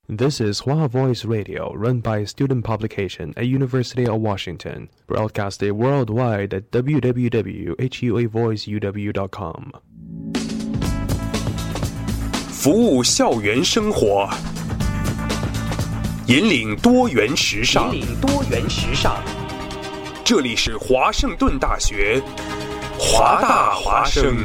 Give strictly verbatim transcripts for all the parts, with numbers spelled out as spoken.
This is Hua Voice Radio, run by student publication at University of Washington, broadcasted worldwide at w w w dot hua voice u w dot com. 服务校园生活，引领多元时尚。引领多元时尚。这里是华盛顿大学，华大华生。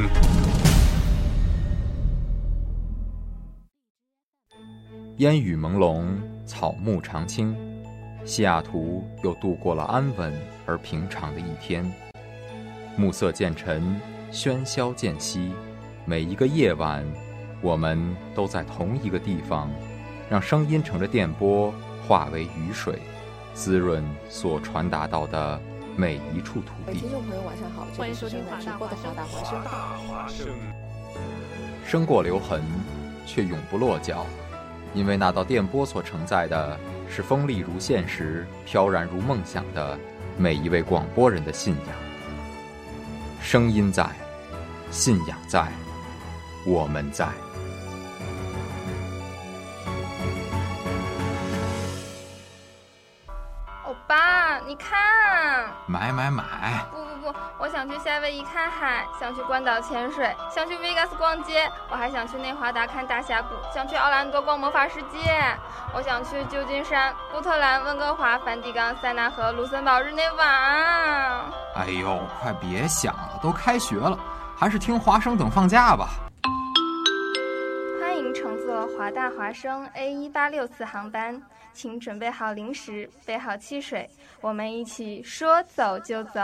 烟雨朦胧，草木常青，西雅图又度过了安稳而平常的一天。暮色渐沉，喧嚣渐息，每一个夜晚，我们都在同一个地方，让声音乘着电波化为雨水，滋润所传达到的每一处土地。 听众朋友晚上好，欢迎收听华大华生。 生过留痕，却永不落脚。因为那道电波所承载的是锋利如现实、飘然如梦想的每一位广播人的信仰。声音在，信仰在，我们在。 欧巴，你看， 买买买！ 不不不，我想去夏威夷看海，想去关岛潜水，想去 Vegas 逛街，我还想去内华达看大峡谷，想去奥兰多逛魔法世界，我想去旧金山、波特兰、温哥华、梵蒂冈、塞纳河、卢森堡、日内瓦。 哎呦，快别想了，都开学了，还是听华生等放假吧。 欢迎乘坐华大华生 A 一八六四航班，请准备好零食，备好汽水，我们一起说走就走。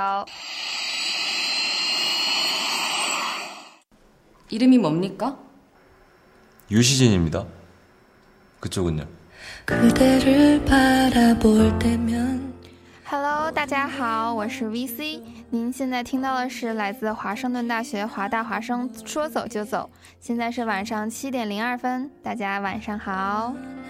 이름이 뭡니까? 유시진입니다. 그쪽은요? 그대를 바라볼 때면 Hello， 大家好，我是 V C。您现在听到的是来自华盛顿大学华大华生说走就走。现在是晚上七点零二分，大家晚上好。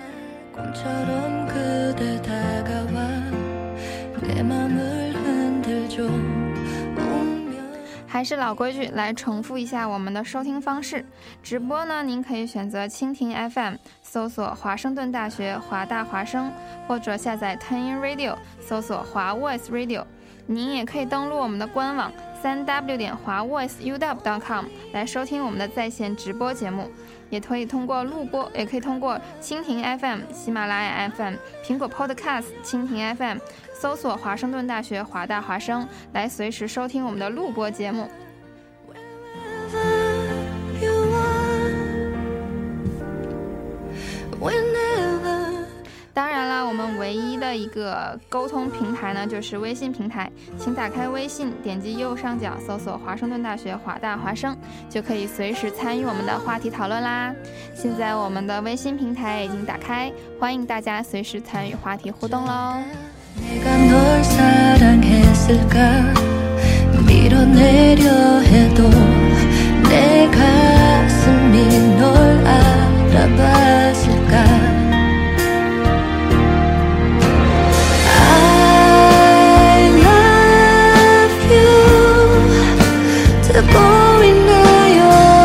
还是老规矩，来重复一下我们的收听方式。直播呢，您可以选择蜻蜓 F M， 搜索华盛顿大学华大华生，或者下载 TuneIn Radio， 搜索华 Voice Radio。您也可以登录我们的官网 三 w 点华 voice u w dot com 来收听我们的在线直播节目，也可以通过录播，也可以通过蜻蜓 F M、喜马拉雅 F M、苹果 Podcast、蜻蜓 F M。搜索华盛顿大学华大华生来随时收听我们的录播节目。当然了，我们唯一的一个沟通平台呢，就是微信平台，请打开微信，点击右上角搜索华盛顿大学华大华生，就可以随时参与我们的话题讨论啦。现在我们的微信平台已经打开，欢迎大家随时参与话题互动喽。 내가 널 사랑했을까 밀어내려 해도 내 가슴이 널 알아봤을까 I love you 다 보이나요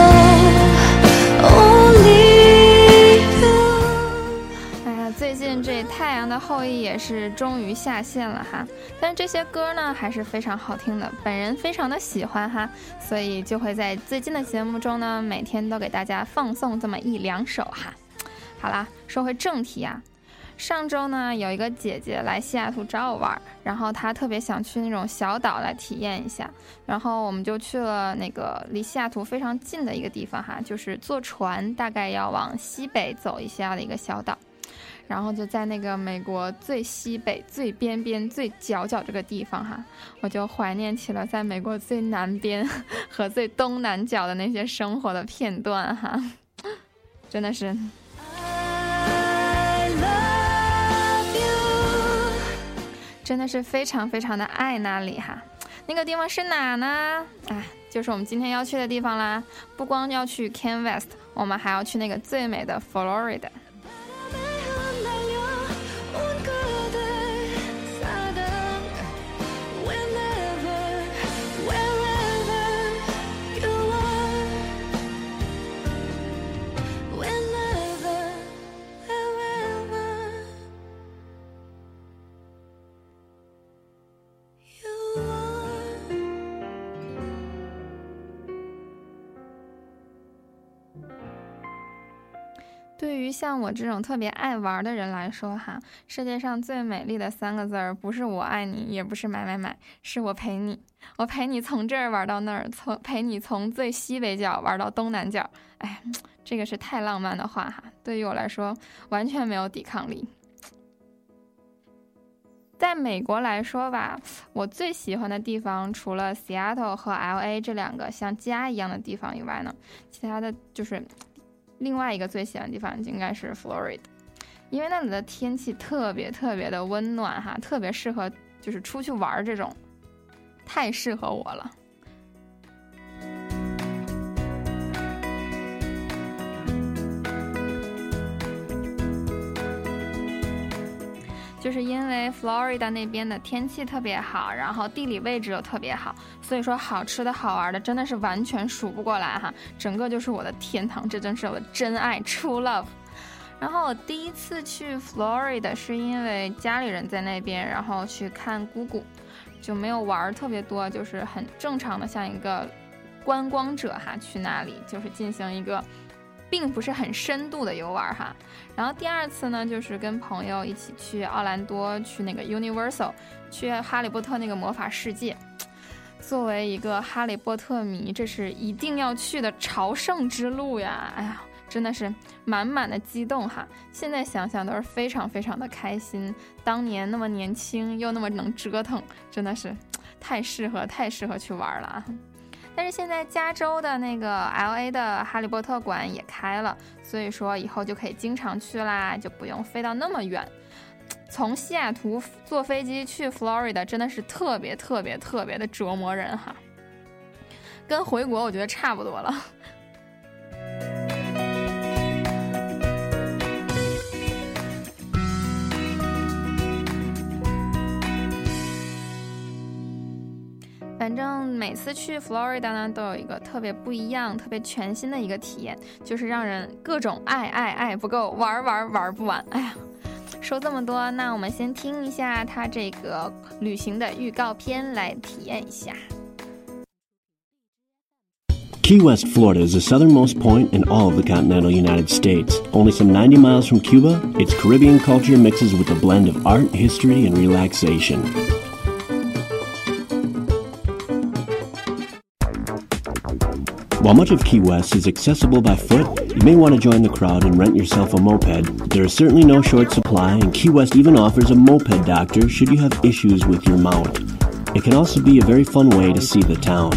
Only you 哎呀，最近这太阳的后裔也是终于下线了哈，但是这些歌呢还是非常好听的，本人非常的喜欢哈，所以就会在最近的节目中呢，每天都给大家放送这么一两首哈。好啦，说回正题啊，上周呢有一个姐姐来西雅图找我玩，然后她特别想去那种小岛来体验一下，然后我们就去了那个离西雅图非常近的一个地方哈，就是坐船大概要往西北走一下的一个小岛。 然后就在那个美国最西北、最边边、最角角这个地方哈，我就怀念起了在美国最南边和最东南角的那些生活的片段哈，真的是。真的是非常非常的爱那里哈，那个地方是哪呢？哎，就是我们今天要去的地方啦。不光要去 Key West， 我们还要去那个最美的 Florida。 对于像我这种特别爱玩的人来说哈，世界上最美丽的三个字儿，不是我爱你，也不是买买买，是我陪你。我陪你从这儿玩到那儿，从陪你从最西北角玩到东南角。哎，这个是太浪漫的话哈，对于我来说完全没有抵抗力。在美国来说吧，我最喜欢的地方除了 Seattle 和 L A 这两个像家一样的地方以外呢，其他的就是另外一个最喜欢的地方应该是 Florida， 因为那里的天气特别特别的温暖哈，特别适合就是出去玩，这种太适合我了。就是因为 Florida 那边的天气特别好，然后地理位置又特别好，所以说好吃的好玩的真的是完全数不过来哈，整个就是我的天堂，这真是我的真爱 True Love。 然后我第一次去 Florida 是因为家里人在那边，然后去看姑姑，就没有玩特别多，就是很正常的像一个观光者哈，去那里就是进行一个并不是很深度的游玩哈。然后第二次呢，就是跟朋友一起去奥兰多，去那个 Universal， 去哈利波特那个魔法世界。作为一个哈利波特迷，这是一定要去的朝圣之路呀！哎呀，真的是满满的激动哈！现在想想都是非常非常的开心。当年那么年轻又那么能折腾，真的是太适合太适合去玩了啊！但是现在加州的那个 L A 的哈利波特馆也开了，所以说以后就可以经常去啦，就不用飞到那么远。从西雅图坐飞机去 Florida 真的是特别特别特别的折磨人哈，跟回国我觉得差不多了。反正每次去 Florida 呢，都有一个特别不一样、特别全新的一个体验，就是让人各种爱爱爱不够，玩玩玩不完。哎呀，说这么多，那我们先听一下它这个旅行的预告片，来体验一下。 Key West, Florida is the southernmost point in all of the continental United States. Only some ninety miles from Cuba, its Caribbean culture mixes with a blend of art, history, and relaxation. While much of Key West is accessible by foot, you may want to join the crowd and rent yourself a moped. There is certainly no short supply, and Key West even offers a moped doctor should you have issues with your mount. It can also be a very fun way to see the town.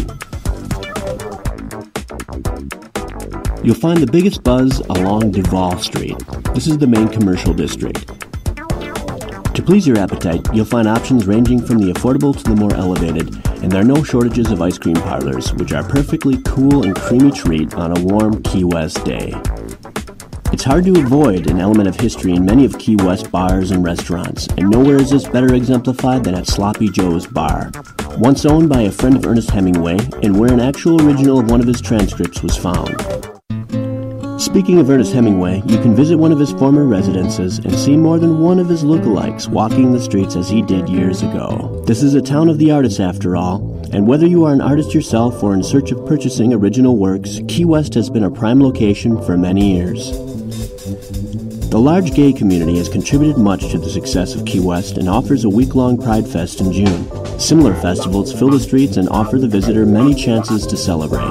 You'll find the biggest buzz along Duval Street. This is the main commercial district. To please your appetite, you'll find options ranging from the affordable to the more elevated, and there are no shortages of ice cream parlors, which are a perfectly cool and creamy treat on a warm Key West day. It's hard to avoid an element of history in many of Key West bars and restaurants, and nowhere is this better exemplified than at Sloppy Joe's Bar. Once owned by a friend of Ernest Hemingway, and where an actual original of one of his transcripts was found. Speaking of Ernest Hemingway, you can visit one of his former residences and see more than one of his lookalikes walking the streets as he did years ago. This is a town of the artists after all, and whether you are an artist yourself or in search of purchasing original works, Key West has been a prime location for many years. The large gay community has contributed much to the success of Key West and offers a week-long Pride Fest in June. Similar festivals fill the streets and offer the visitor many chances to celebrate.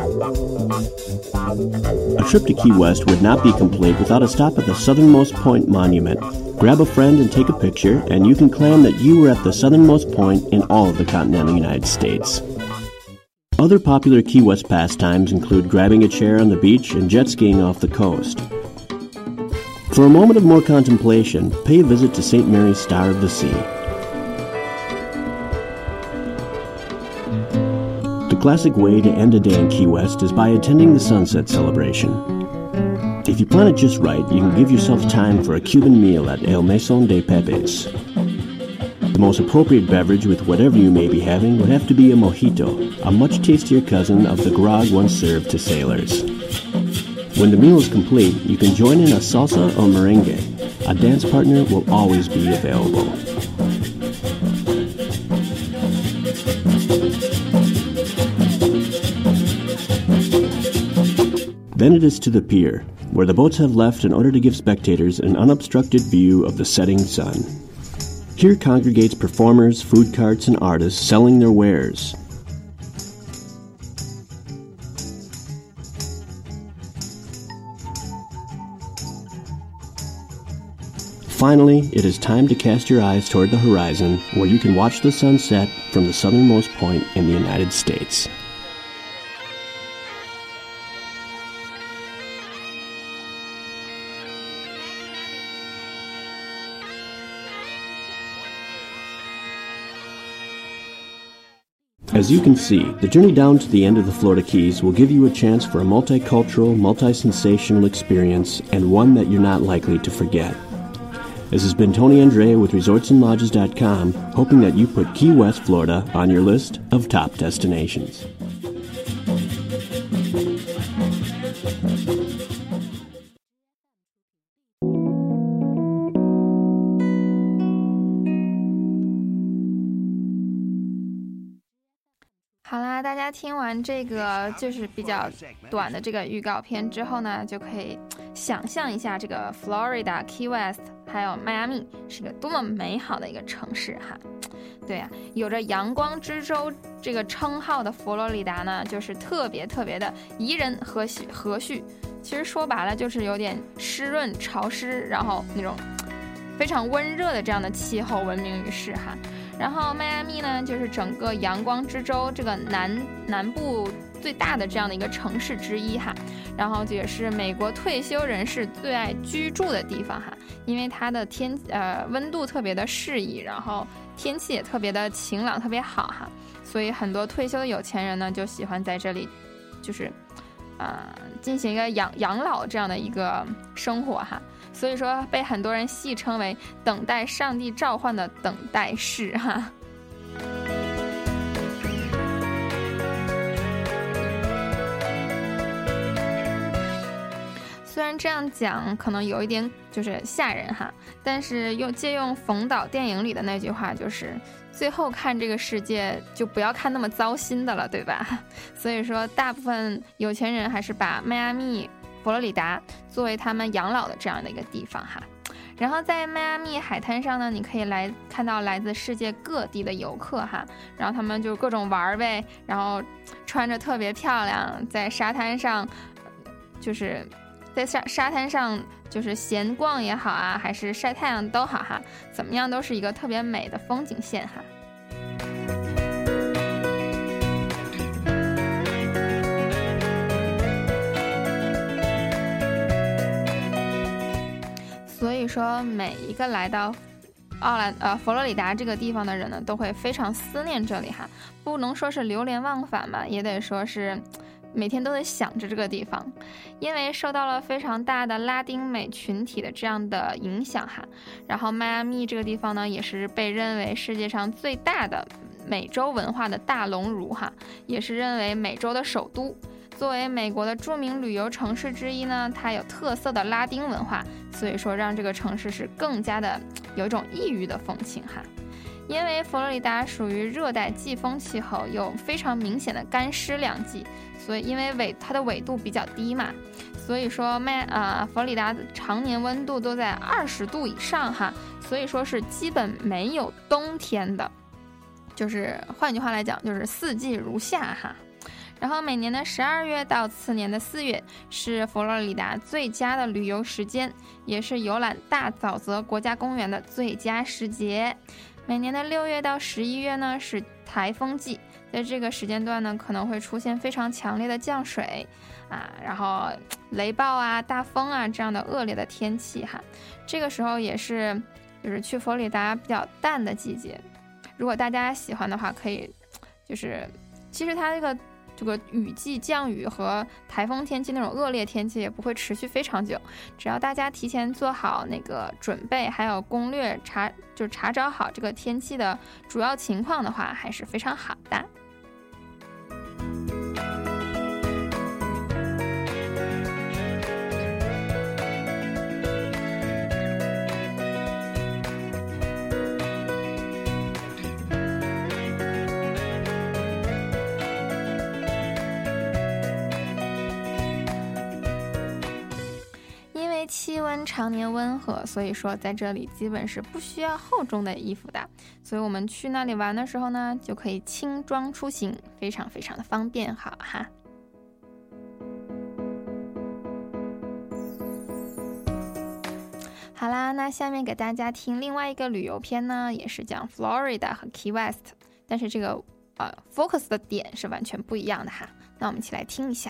A trip to Key West would not be complete without a stop at the Southernmost Point Monument. Grab a friend and take a picture, and you can claim that you were at the southernmost point in all of the continental United States. Other popular Key West pastimes include grabbing a chair on the beach and jet skiing off the coast. For a moment of more contemplation, pay a visit to Saint Mary's Star of the Sea. The classic way to end a day in Key West is by attending the sunset celebration. If you plan it just right, you can give yourself time for a Cuban meal at El Mesón de Pepe's. The most appropriate beverage with whatever you may be having would have to be a mojito, a much tastier cousin of the grog once served to sailors. When the meal is complete, you can join in a salsa or merengue. A dance partner will always be available. Then it is to the pier. where the boats have left in order to give spectators an unobstructed view of the setting sun. Here congregates performers, food carts, and artists selling their wares. Finally, it is time to cast your eyes toward the horizon, where you can watch the sunset from the southernmost point in the United States. As you can see, the journey down to the end of the Florida Keys will give you a chance for a multicultural, multi-sensational experience, and one that you're not likely to forget. This has been Tony Andrea with resorts and lodges dot com, hoping that you put Key West, Florida on your list of top destinations. 好啦，大家听完这个就是比较短的这个预告片之后呢，就可以想象一下这个 Florida Key West 还有迈阿密是个多么美好的一个城市哈。对啊，有着阳光之州这个称号的佛罗里达呢，就是特别特别的宜人和和煦。其实说白了就是有点湿润潮湿，然后那种非常温热的这样的气候闻名于世哈。然后迈阿密呢，就是整个阳光之州这个南南部最大的这样的一个城市之一哈，然后这也是美国退休人士最爱居住的地方哈，因为它的天呃温度特别的适宜，然后天气也特别的晴朗，特别好哈，所以很多退休的有钱人呢就喜欢在这里，就是呃进行一个养养老这样的一个生活哈。所以说被很多人戏称为等待上帝召唤的等待室哈。虽然这样讲可能有一点就是吓人哈，但是又借用冯导电影里的那句话，就是最后看这个世界就不要看那么糟心的了，对吧？所以说大部分有钱人还是把迈阿密佛罗里达作为他们养老的这样的一个地方哈。然后在迈阿密海滩上呢，你可以来看到来自世界各地的游客哈，然后他们就各种玩呗，然后穿着特别漂亮，在沙滩上就是在沙沙滩上就是闲逛也好啊，还是晒太阳都好哈，怎么样都是一个特别美的风景线哈。所以说每一个来到奥兰呃佛罗里达这个地方的人呢，都会非常思念这里哈，不能说是流连忘返吧，也得说是每天都得想着这个地方，因为受到了非常大的拉丁美群体的这样的影响哈。然后迈阿密这个地方呢，也是被认为世界上最大的美洲文化的大熔炉哈，也是认为美洲的首都。作为美国的著名旅游城市之一呢，它有特色的拉丁文化，所以说让这个城市是更加的有一种异域的风情哈。因为佛罗里达属于热带季风气候，有非常明显的干湿两季，所以因为纬它的纬度比较低嘛，所以说迈啊、呃、佛罗里达常年温度都在二十度以上哈，所以说是基本没有冬天的，就是换句话来讲，就是四季如夏哈。然后每年的十二月到次年的四月是佛罗里达最佳的旅游时间，也是游览大沼泽国家公园的最佳时节。每年的六月到十一月呢是台风季，在这个时间段呢可能会出现非常强烈的降水啊，然后雷暴啊、大风啊这样的恶劣的天气哈。这个时候也是就是去佛罗里达比较淡的季节。如果大家喜欢的话，可以就是其实它这个。这个雨季降雨和台风天气那种恶劣天气也不会持续非常久，只要大家提前做好那个准备，还有攻略查就查找好这个天气的主要情况的话，还是非常好的。 温常年温和，所以说在这里基本是不需要厚重的衣服的，所以我们去那里玩的时候呢，就可以轻装出行，非常非常的方便，好哈。好啦，那下面给大家听另外一个旅游片呢，也是讲 Florida 和 Key West， 但是这个呃 focus 的点是完全不一样的哈。那我们一起来听一下。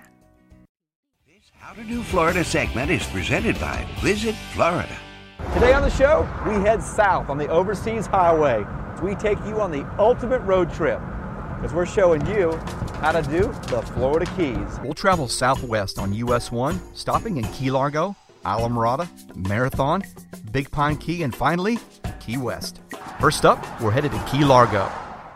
How to Do Florida segment is presented by Visit Florida. Today on the show, we head south on the Overseas Highway as we take you on the ultimate road trip, as we're showing you how to do the Florida Keys. We'll travel southwest on U S one, stopping in Key Largo, Islamorada, Marathon, Big Pine Key, and finally, Key West. First up, we're headed to Key Largo.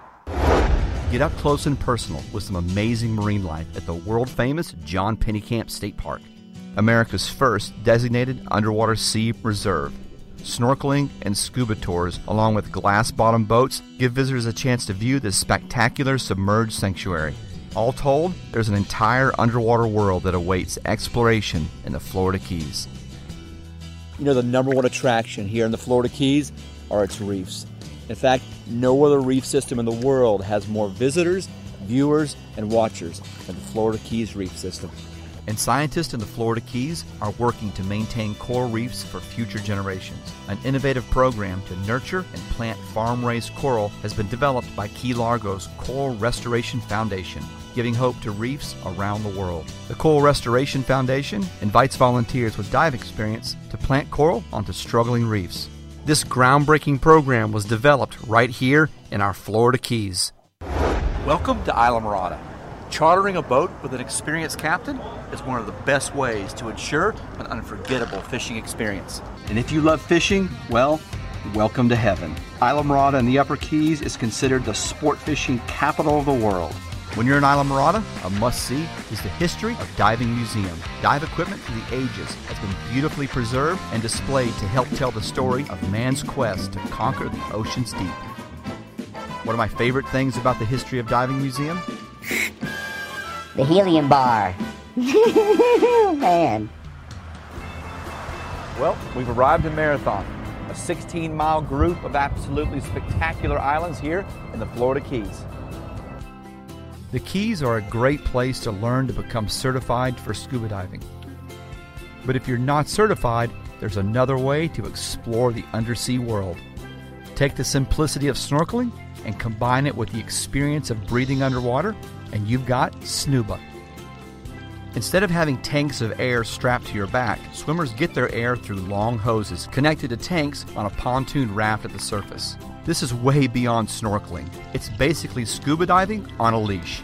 Get up close and personal with some amazing marine life at the world-famous John Pennekamp State Park, America's first designated underwater sea reserve. Snorkeling and scuba tours, along with glass-bottom boats, give visitors a chance to view this spectacular submerged sanctuary. All told, there's an entire underwater world that awaits exploration in the Florida Keys. You know, the number one attraction here in the Florida Keys are its reefs. In fact, no other reef system in the world has more visitors, viewers, and watchers than the Florida Keys reef system. And scientists in the Florida Keys are working to maintain coral reefs for future generations. An innovative program to nurture and plant farm-raised coral has been developed by Key Largo's Coral Restoration Foundation, giving hope to reefs around the world. The Coral Restoration Foundation invites volunteers with dive experience to plant coral onto struggling reefs. This groundbreaking program was developed right here in our Florida Keys. Welcome to Islamorada. Chartering a boat with an experienced captain is one of the best ways to ensure an unforgettable fishing experience. And if you love fishing, well, welcome to heaven. Islamorada in the Upper Keys is considered the sport fishing capital of the world. When you're in Islamorada, a must-see is the History of Diving Museum. Dive equipment through the ages has been beautifully preserved and displayed to help tell the story of man's quest to conquer the ocean's deep. One of my favorite things about the History of Diving Museum? The helium bar. Man. Well, we've arrived in Marathon, a sixteen-mile group of absolutely spectacular islands here in the Florida Keys. The Keys are a great place to learn to become certified for scuba diving. But if you're not certified, there's another way to explore the undersea world. Take the simplicity of snorkeling and combine it with the experience of breathing underwater, and you've got SNUBA. Instead of having tanks of air strapped to your back, swimmers get their air through long hoses connected to tanks on a pontoon raft at the surface. This is way beyond snorkeling. It's basically scuba diving on a leash.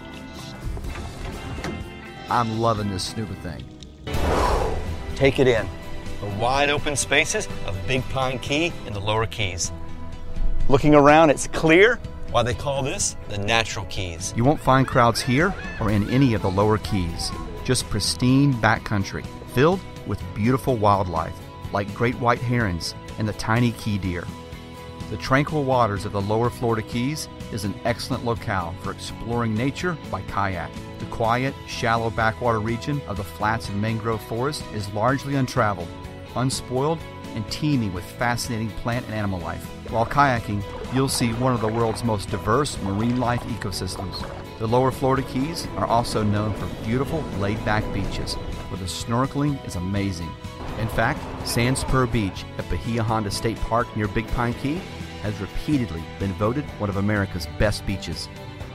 I'm loving this scuba thing. Take it in. The wide open spaces of Big Pine Key in the Lower Keys. Looking around, it's clear why they call this the Natural Keys. You won't find crowds here or in any of the Lower Keys. Just pristine backcountry filled with beautiful wildlife like great white herons and the tiny key deer. The tranquil waters of the Lower Florida Keys is an excellent locale for exploring nature by kayak. The quiet, shallow backwater region of the flats and mangrove forest is largely untraveled, unspoiled, and teeming with fascinating plant and animal life. While kayaking, you'll see one of the world's most diverse marine life ecosystems. The Lower Florida Keys are also known for beautiful, laid-back beaches, where the snorkeling is amazing. In fact, Sand Spur Beach at Bahia Honda State Park near Big Pine Key has repeatedly been voted one of America's best beaches.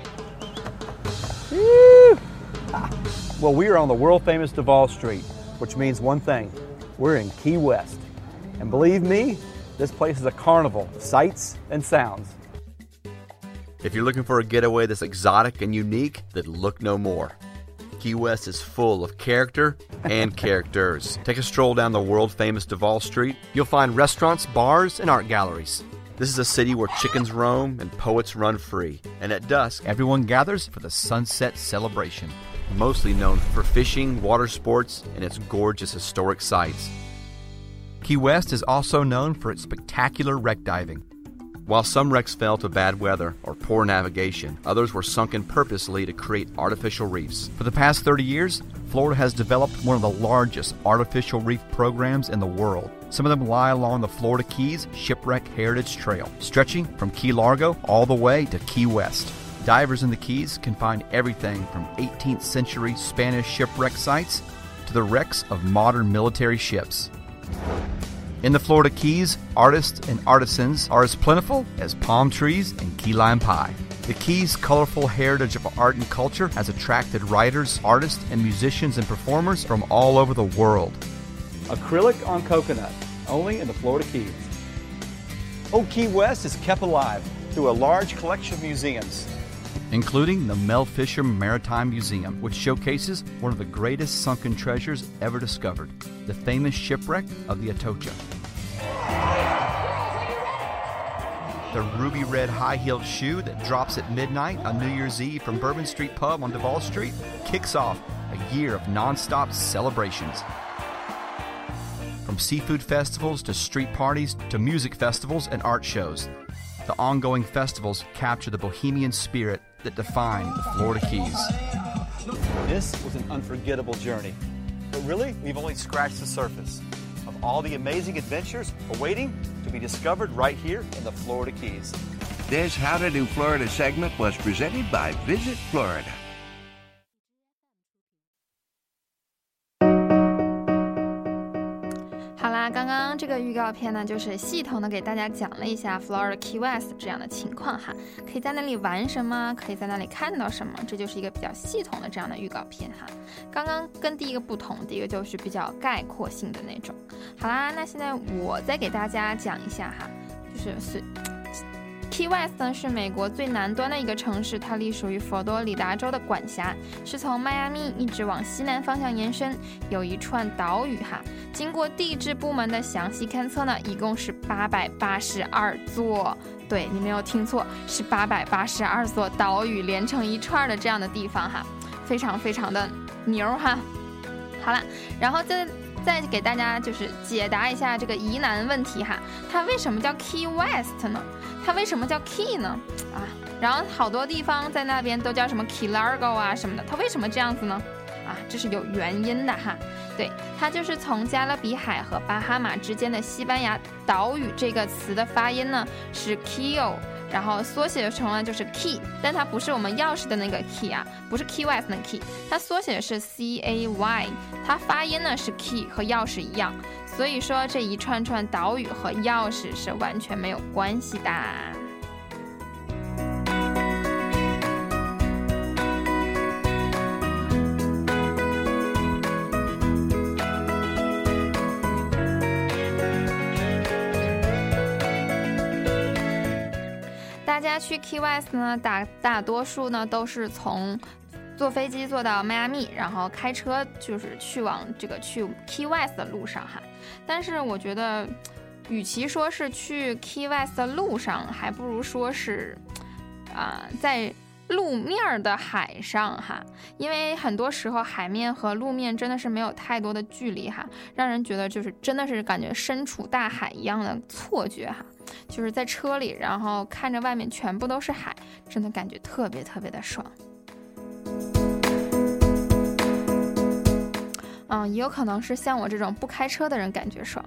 Woo! Well, we are on the world-famous Duval Street, which means one thing. We're in Key West. And believe me, this place is a carnival of sights and sounds. If you're looking for a getaway that's exotic and unique, then look no more. Key West is full of character and characters. Take a stroll down the world-famous Duval Street. You'll find restaurants, bars, and art galleries. This is a city where chickens roam and poets run free. And at dusk, everyone gathers for the sunset celebration. Mostly known for fishing, water sports, and its gorgeous historic sites. Key West is also known for its spectacular wreck diving. While some wrecks fell to bad weather or poor navigation, others were sunken purposely to create artificial reefs. For the past thirty years, Florida has developed one of the largest artificial reef programs in the world. Some of them lie along the Florida Keys Shipwreck Heritage Trail, stretching from Key Largo all the way to Key West. Divers in the Keys can find everything from eighteenth century Spanish shipwreck sites to the wrecks of modern military ships. In the Florida Keys, artists and artisans are as plentiful as palm trees and key lime pie. The Keys' colorful heritage of art and culture has attracted writers, artists, and musicians and performers from all over the world. Acrylic on coconut, only in the Florida Keys. Old Key West is kept alive through a large collection of museums, including the Mel Fisher Maritime Museum, which showcases one of the greatest sunken treasures ever discovered, the famous shipwreck of the Atocha. The ruby red high-heeled shoe that drops at midnight on New Year's Eve from Bourbon Street Pub on Duval Street kicks off a year of non-stop celebrations. From seafood festivals to street parties to music festivals and art shows, the ongoing festivals capture the bohemian spirit that define the Florida Keys. This was an unforgettable journey, but really, we've only scratched the surface of all the amazing adventures awaiting to be discovered right here in the Florida Keys. This How to Do Florida segment was presented by Visit Florida. 好啦，刚刚这个预告片呢，就是系统的给大家讲了一下 Florida Key West 这样的情况哈，可以在那里玩什么，可以在那里看到什么，这就是一个比较系统的这样的预告片哈。刚刚跟第一个不同，第一个就是比较概括性的那种。好啦，那现在我再给大家讲一下哈，就是是。Key West 呢是美国最南端的一个城市，它隶属于佛罗里达州的管辖，是从迈阿密一直往西南方向延伸，有一串岛屿哈。经过地质部门的详细勘测呢，一共是八百八十二座，对，你没有听错，是八百八十二座岛屿连成一串的这样的地方哈，非常非常的牛哈。好了，然后再再给大家就是解答一下这个疑难问题哈，它为什么叫 Key West 呢？它为什么叫 Key 呢？啊，然后好多地方在那边都叫什么 Key Largo 啊什么的，它为什么这样子呢？啊，这是有原因的哈。对，它就是从加勒比海和巴哈马之间的西班牙岛屿这个词的发音呢是 Key， 然后缩写成了就是 Key， 但它不是我们钥匙的那个 Key 啊，不是 Key West 的 Key， 它缩写是 C A Y， 它发音呢是 Key 和钥匙一样。所以说这一串串岛屿和钥匙是完全没有关系的。大家去 Key West 呢，大大多数呢都是从坐飞机坐到迈阿密，然后开车就是去往这个去 Key West 的路上哈。但是我觉得，与其说是去 Key West 的路上，还不如说是，啊、呃，在路面的海上哈。因为很多时候海面和路面真的是没有太多的距离哈，让人觉得就是真的是感觉身处大海一样的错觉哈。就是在车里，然后看着外面全部都是海，真的感觉特别特别的爽。嗯，也有可能是像我这种不开车的人感觉爽。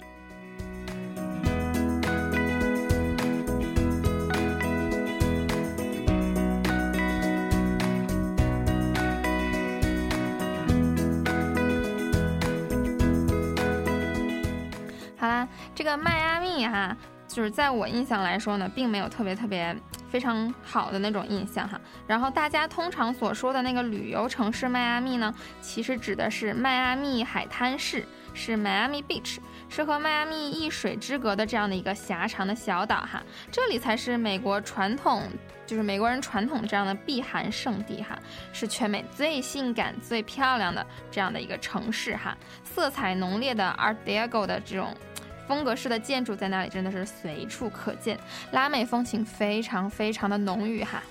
好啦，这个迈阿密哈，就是在我印象来说呢，并没有特别特别非常好的那种印象哈。然后大家通常所说的那个旅游城市迈阿密呢，其实指的是迈阿密海滩市，是 Miami Beach， 是和迈阿密一水之隔的这样的一个狭长的小岛哈。这里才是美国传统，就是美国人传统的这样的避寒胜地哈，是全美最性感、最漂亮的这样的一个城市哈。色彩浓烈的 Art Deco 的这种风格式的建筑在那里真的是随处可见，拉美风情非常非常的浓郁哈。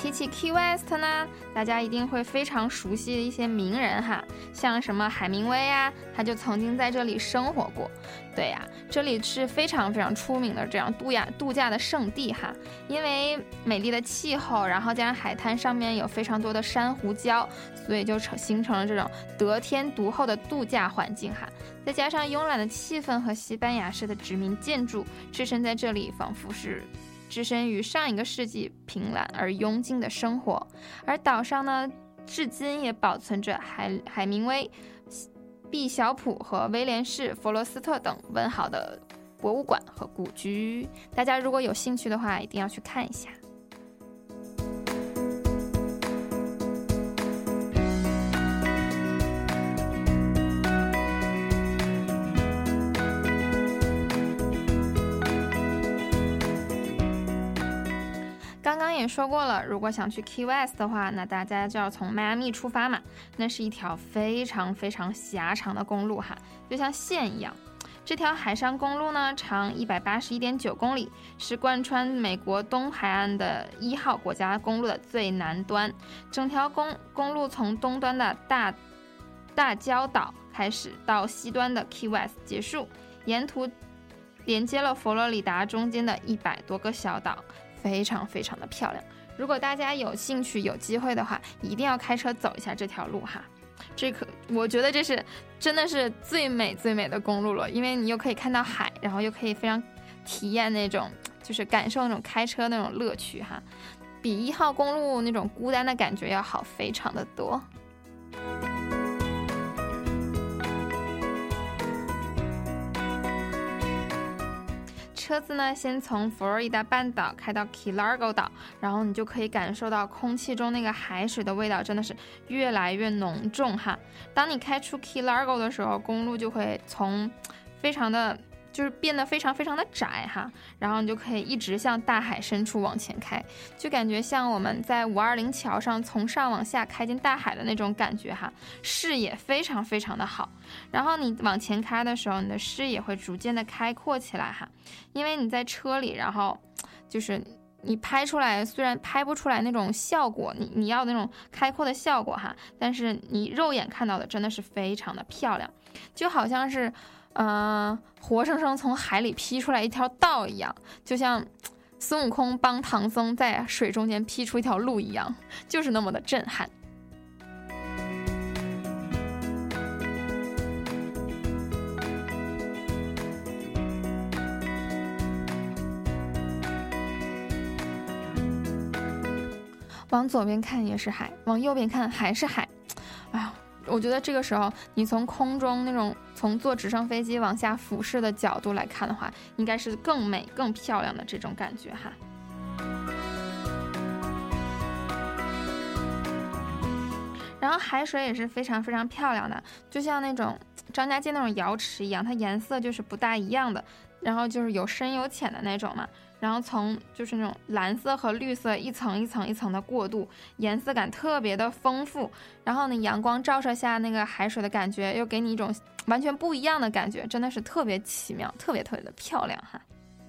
提起 Key West 呢，大家一定会非常熟悉的一些名人哈，像什么海明威啊，他就曾经在这里生活过。对呀、啊，这里是非常非常出名的这样度假度假的圣地哈，因为美丽的气候，然后加上海滩上面有非常多的珊瑚礁，所以就成形成了这种得天独厚的度假环境哈。再加上慵懒的气氛和西班牙式的殖民建筑，置身在这里仿佛是置身于上一个世纪平懒而幽静的生活。而岛上呢，至今也保存着海海明威、毕晓普和威廉士·弗罗斯特等文豪的博物馆和故居，大家如果有兴趣的话，一定要去看一下。刚刚也说过了，如果想去 Key West 的话，那大家就要从迈阿密出发嘛。那是一条非常非常狭长的公路哈，就像线一样。这条海上公路呢，长一百八十一点九公里，是贯穿美国东海岸的一号国家公路的最南端。整条公公路从东端的大大礁岛开始，到西端的 Key West 结束，沿途连接了佛罗里达中间的一百多个小岛。非常非常的漂亮，如果大家有兴趣有机会的话，一定要开车走一下这条路哈。这可我觉得这是真的是最美最美的公路了，因为你又可以看到海，然后又可以非常体验那种就是感受那种开车那种乐趣哈，比一号公路那种孤单的感觉要好非常的多。车子呢，先从佛罗里达半岛开到 Key Largo 岛，然后你就可以感受到空气中那个海水的味道真的是越来越浓重哈。当你开出 Key Largo 的时候，公路就会从非常的就是变得非常非常的窄哈，然后你就可以一直向大海深处往前开，就感觉像我们在五二零桥上从上往下开进大海的那种感觉哈，视野非常非常的好。然后你往前开的时候，你的视野会逐渐的开阔起来哈，因为你在车里，然后就是你拍出来，虽然拍不出来那种效果，你你要那种开阔的效果哈，但是你肉眼看到的真的是非常的漂亮，就好像是呃，活生生从海里劈出来一条道一样，就像孙悟空帮唐僧在水中间劈出一条路一样，就是那么的震撼。往左边看也是海，往右边看还是海，哎呀，我觉得这个时候你从空中那种从坐直升飞机往下俯视的角度来看的话，应该是更美更漂亮的这种感觉哈。然后海水也是非常非常漂亮的，就像那种张家界那种瑶池一样，它颜色就是不大一样的，然后就是有深有浅的那种嘛，然后从就是那种蓝色和绿色一层一层一层的过渡，颜色感特别的丰富，然后呢阳光照射下那个海水的感觉又给你一种完全不一样的感觉，真的是特别奇妙，特别特别的漂亮哈。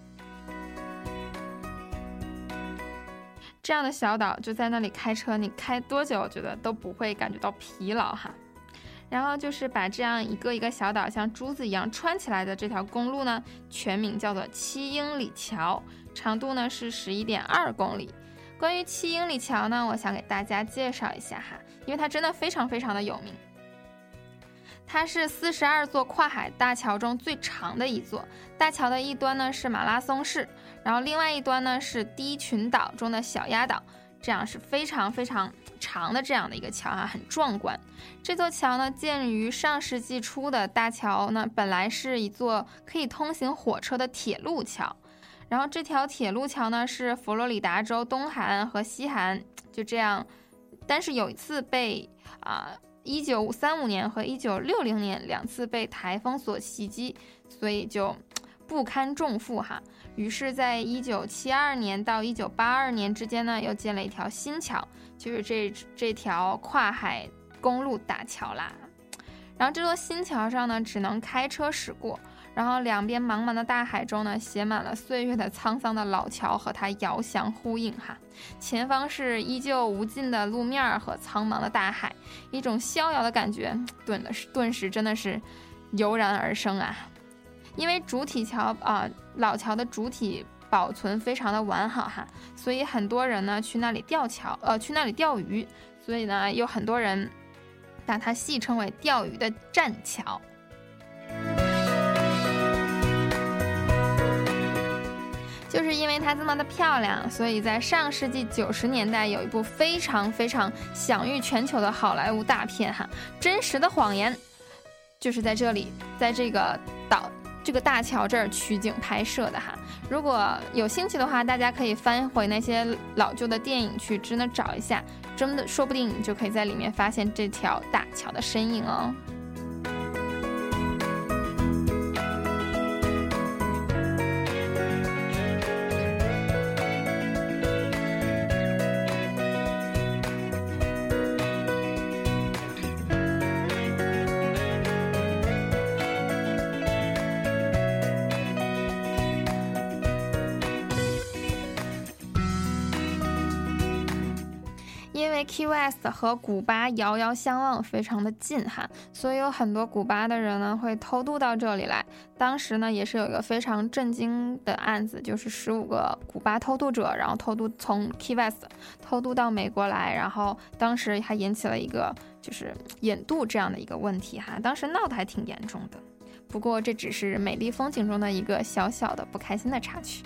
这样的小岛就在那里开车，你开多久我觉得都不会感觉到疲劳哈。然后就是把这样一个一个小岛像珠子一样穿起来的这条公路呢，全名叫做七英里桥，长度呢是十一点二公里。关于七英里桥呢，我想给大家介绍一下哈，因为它真的非常非常的有名。它是四十二座跨海大桥中最长的一座，大桥的一端呢是马拉松市，然后另外一端呢是低群岛中的小鸭岛，这样是非常非常长的这样的一个桥啊，很壮观。这座桥呢建于上世纪初的大桥呢，本来是一座可以通行火车的铁路桥，然后这条铁路桥呢是佛罗里达州东海岸和西海岸就这样，但是有一次被啊。一九三五年和一九六零年两次被台风所袭击，所以就不堪重负哈。于是，在一九七二年到一九八二年之间呢，又建了一条新桥，就是这这条跨海公路大桥啦。然后这座新桥上呢，只能开车驶过， 然后两边茫茫的大海中呢，写满了岁月的沧桑的老桥和它遥相呼应哈。前方是依旧无尽的路面和苍茫的大海，一种逍遥的感觉顿的顿时真的是油然而生啊。因为主体桥啊、呃，老桥的主体保存非常的完好哈，所以很多人呢去那里吊桥，呃，去那里钓鱼，所以呢有很多人把它戏称为钓鱼的栈桥。就是因为它这么的漂亮，所以在上世纪九十年代有一部非常非常享誉全球的好莱坞大片哈，《真实的谎言》，就是在这里，在这个岛这个大桥这儿取景拍摄的哈。如果有兴趣的话，大家可以翻回那些老旧的电影去真的找一下，真的说不定你就可以在里面发现这条大桥的身影哦。因为 Key West 和古巴遥遥相望，非常的近哈，所以有很多古巴的人呢会偷渡到这里来。当时呢也是有一个非常震惊的案子，就是十五个古巴偷渡者，然后偷渡从 Key West 偷渡到美国来，然后当时还引起了一个就是引渡这样的一个问题哈，当时闹得还挺严重的。不过这只是美丽风景中的一个小小的不开心的插曲。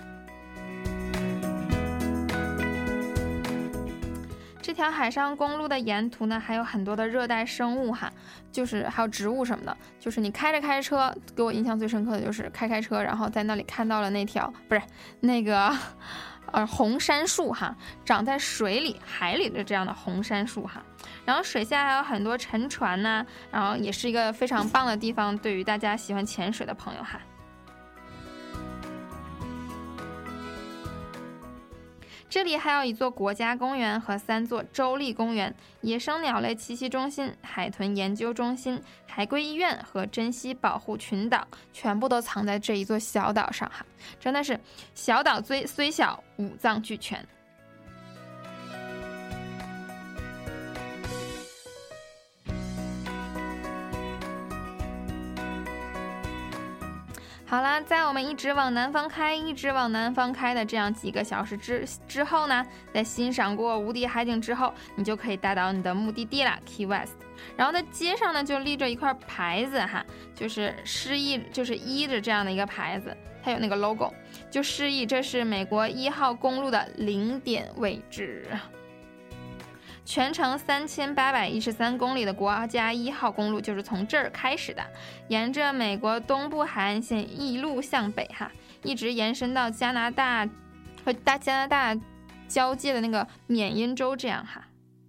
这条海上公路的沿途呢，还有很多的热带生物哈，就是还有植物什么的。就是你开着开着车，给我印象最深刻的就是开开车，然后在那里看到了那条不是那个呃红杉树哈，长在水里海里的这样的红杉树哈。然后水下还有很多沉船呢，然后也是一个非常棒的地方，对于大家喜欢潜水的朋友哈。这里还有一座国家公园和三座州立公园、野生鸟类栖息中心、海豚研究中心、海龟医院和珍稀保护群岛，全部都藏在这一座小岛上哈，真的是小岛虽虽小，五脏俱全。好啦，在我们一直往南方开一直往南方开的这样几个小时之之后呢，在欣赏过无敌海景之后，你就可以达到你的目的地啦 Key West。 然后在街上呢就立着一块牌子哈，就是示意就是依着这样的一个牌子，它有那个 logo， 就示意这是美国一号公路的零点位置。全程三千八百一十三公里的国家一号公路就是从这儿开始的，沿着美国东部海岸线一路向北哈，一直延伸到加拿大和大加拿大交界的那个缅因州这样哈。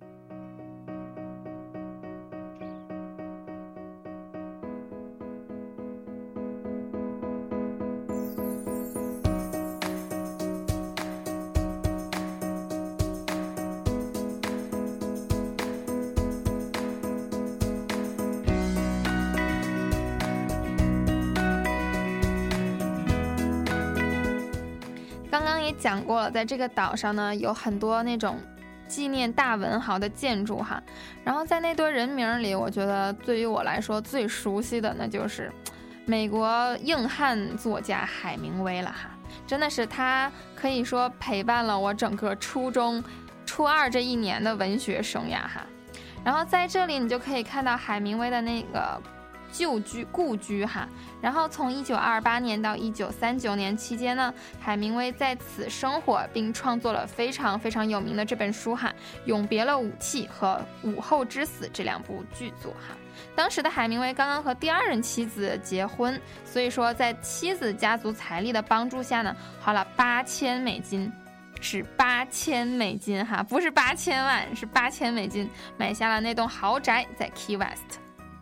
刚刚也讲过了，在这个岛上呢有很多那种纪念大文豪的建筑哈，然后在那堆人名里，我觉得对于我来说最熟悉的那就是美国硬汉作家海明威了哈，真的是他可以说陪伴了我整个初中初二这一年的文学生涯哈。然后在这里你就可以看到海明威的那个旧居故居哈，然后从一九二八年到一九三九年期间呢，海明威在此生活并创作了非常非常有名的这本书哈，《永别了武器》和《午后之死》这两部巨作哈。当时的海明威刚刚和第二任妻子结婚，所以说在妻子家族财力的帮助下呢，花了八千美金。是八千美金哈，不是八千万，是八千美金买下了那栋豪宅在 Key West。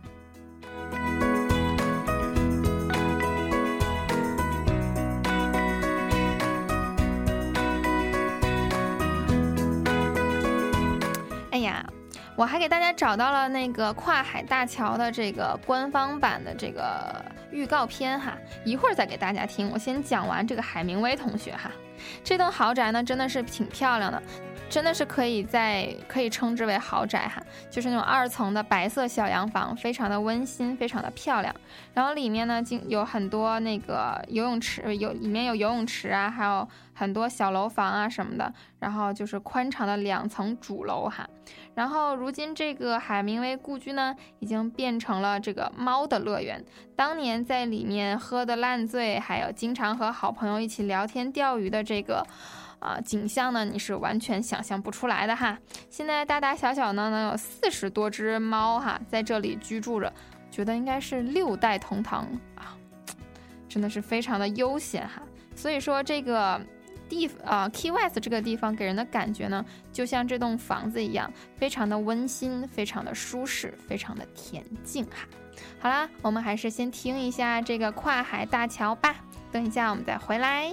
哎呀，我还给大家找到了那个跨海大桥的这个官方版的这个预告片哈，一会儿再给大家听。我先讲完这个海明威同学哈，这栋豪宅呢真的是挺漂亮的。真的是可以在可以称之为豪宅哈，就是那种二层的白色小洋房，非常的温馨，非常的漂亮。然后里面呢，有很多那个游泳池，有里面有游泳池啊，还有很多小楼房啊什么的。然后就是宽敞的两层主楼哈。然后如今这个海明威故居呢，已经变成了这个猫的乐园。当年在里面喝得烂醉，还有经常和好朋友一起聊天钓鱼的这个。啊，景象呢，你是完全想象不出来的哈。现在大大小小呢，能有四十多只猫哈，在这里居住着，觉得应该是六代同堂啊，真的是非常的悠闲哈。所以说这个地啊 Key West 这个地方给人的感觉呢，就像这栋房子一样，非常的温馨，非常的舒适，非常的恬静哈。好啦，我们还是先听一下这个跨海大桥吧，等一下我们再回来。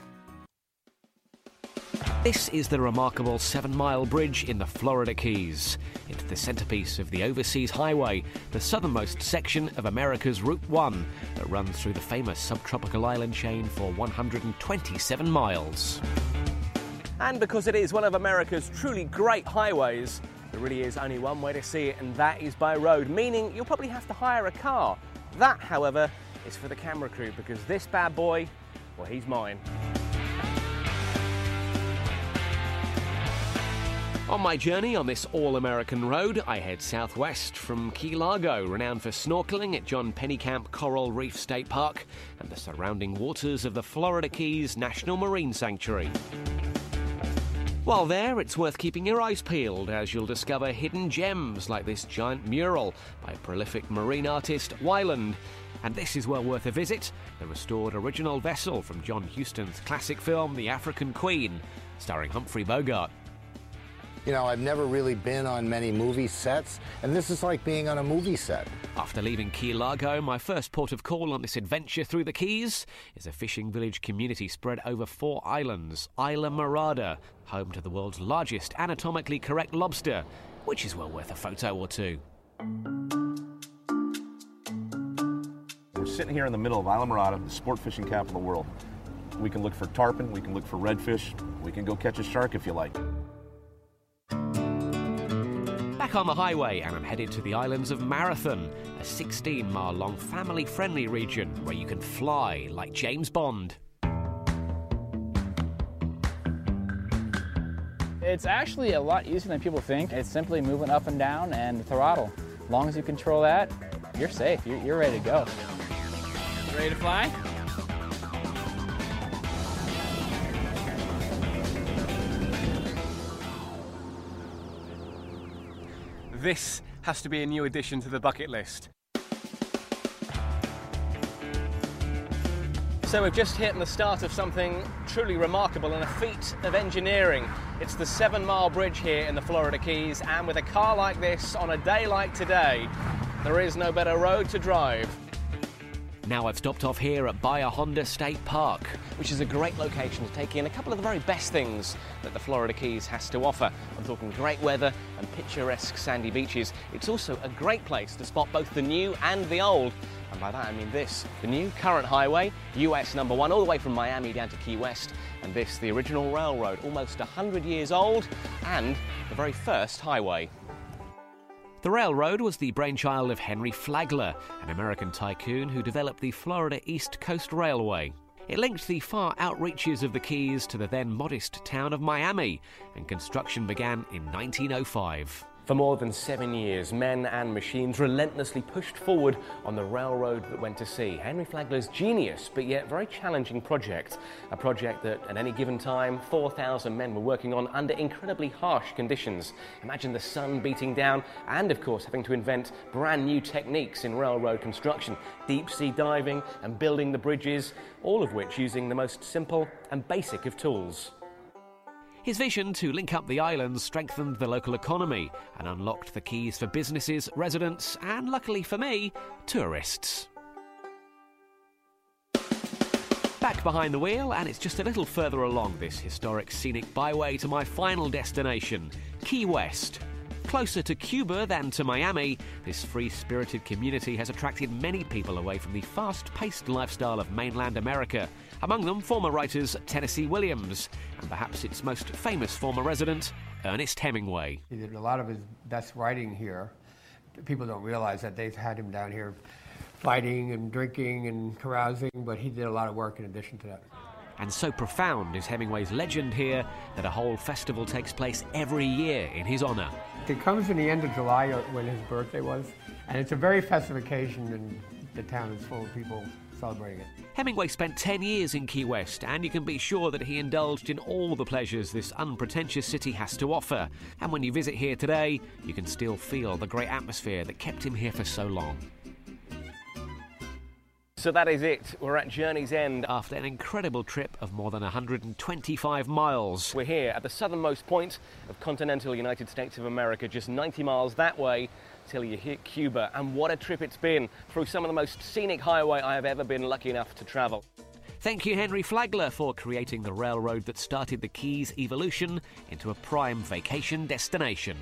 This is the remarkable seven-mile bridge in the Florida Keys. It's the centerpiece of the Overseas Highway, the southernmost section of America's Route one that runs through the famous subtropical island chain for one hundred twenty-seven miles. And because it is one of America's truly great highways, there really is only one way to see it, and that is by road, meaning you'll probably have to hire a car. That, however, is for the camera crew, because this bad boy, well, he's mine. On my journey on this all-American road, I head southwest from Key Largo, renowned for snorkeling at John Pennekamp Coral Reef State Park and the surrounding waters of the Florida Keys National Marine Sanctuary. While there, it's worth keeping your eyes peeled, as you'll discover hidden gems like this giant mural by prolific marine artist Weiland. And this is well worth a visit, the restored original vessel from John Huston's classic film The African Queen, starring Humphrey Bogart. You know, I've never really been on many movie sets, and this is like being on a movie set. After leaving Key Largo, my first port of call on this adventure through the Keys is a fishing village community spread over four islands, Isla Mirada, home to the world's largest anatomically correct lobster, which is well worth a photo or two. We're sitting here in the middle of Isla Mirada, the sport fishing capital of the world. We can look for tarpon, we can look for redfish, we can go catch a shark if you like. Back on the highway, and I'm headed to the islands of Marathon, a sixteen-mile-long family-friendly region where you can fly like James Bond. It's actually a lot easier than people think. It's simply moving up and down and throttle. As long as you control that, you're safe. You're, you're ready to go. Ready to fly? This has to be a new addition to the bucket list. So we've just hit the start of something truly remarkable and a feat of engineering. It's the seven-mile bridge here in the Florida Keys, and with a car like this on a day like today, there is no better road to drive. Now I've stopped off here at Bahia Honda State Park, which is a great location to take in a couple of the very best things that the Florida Keys has to offer. I'm talking great weather and picturesque sandy beaches. It's also a great place to spot both the new and the old. And by that I mean this, the new current highway, U S number one, all the way from Miami down to Key West. And this, the original railroad, almost one hundred years old, and the very first highway. The railroad was the brainchild of Henry Flagler, an American tycoon who developed the Florida East Coast Railway. It linked the far outreaches of the Keys to the then modest town of Miami, and construction began in nineteen oh five. For more than seven years, men and machines relentlessly pushed forward on the railroad that went to sea. Henry Flagler's genius, but yet very challenging project. A project that, at any given time, four thousand men were working on under incredibly harsh conditions. Imagine the sun beating down and, of course, having to invent brand new techniques in railroad construction. Deep-sea diving and building the bridges, all of which using the most simple and basic of tools. His vision to link up the islands strengthened the local economy and unlocked the Keys for businesses, residents, and luckily for me, tourists. Back behind the wheel, and it's just a little further along this historic scenic byway to my final destination, Key West. Closer to Cuba than to Miami, this free-spirited community has attracted many people away from the fast-paced lifestyle of mainland America. Among them, former writers Tennessee Williams, and perhaps its most famous former resident, Ernest Hemingway. He did a lot of his best writing here. People don't realize that they've had him down here fighting and drinking and carousing, but he did a lot of work in addition to that. And so profound is Hemingway's legend here that a whole festival takes place every year in his honor. It comes in the end of July when his birthday was, and it's a very festive occasion, and the town is full of people celebrating it. Hemingway spent ten years in Key West, and you can be sure that he indulged in all the pleasures this unpretentious city has to offer. And when you visit here today, you can still feel the great atmosphere that kept him here for so long. So that is it. We're at Journey's End. After an incredible trip of more than one hundred twenty-five miles. We're here at the southernmost point of continental United States of America, just ninety miles that way till you hit Cuba. And what a trip it's been through some of the most scenic highway I have ever been lucky enough to travel. Thank you, Henry Flagler, for creating the railroad that started the Keys' evolution into a prime vacation destination.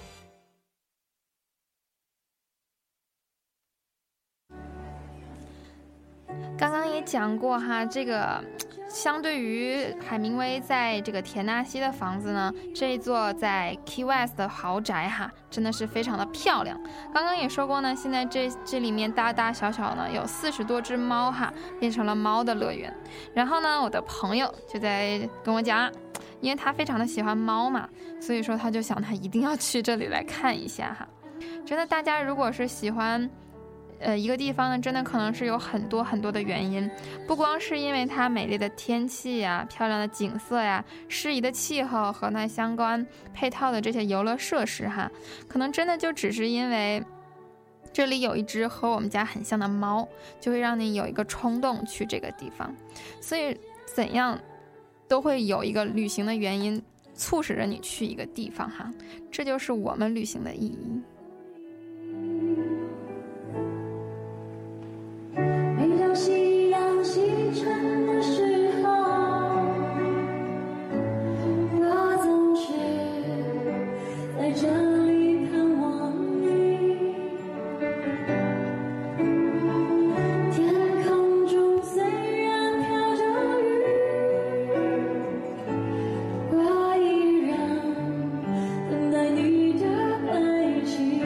刚刚也讲过哈，这个相对于海明威在这个田纳西的房子呢，这一座在 Key West 的豪宅哈，真的是非常的漂亮。刚刚也说过呢，现在这这里面大大小小呢有四十多只猫哈，变成了猫的乐园。然后呢，我的朋友就在跟我讲，因为他非常的喜欢猫嘛，所以说他就想他一定要去这里来看一下哈。真的，大家如果是喜欢呃，一个地方呢，真的可能是有很多很多的原因，不光是因为它美丽的天气呀、漂亮的景色呀、适宜的气候和那相关配套的这些游乐设施哈，可能真的就只是因为这里有一只和我们家很像的猫，就会让你有一个冲动去这个地方。所以怎样都会有一个旅行的原因促使着你去一个地方哈，这就是我们旅行的意义。 每当夕阳西沉的时候，我总是在这里盼望你。天空中虽然飘着雨，我依然等待你的爱情。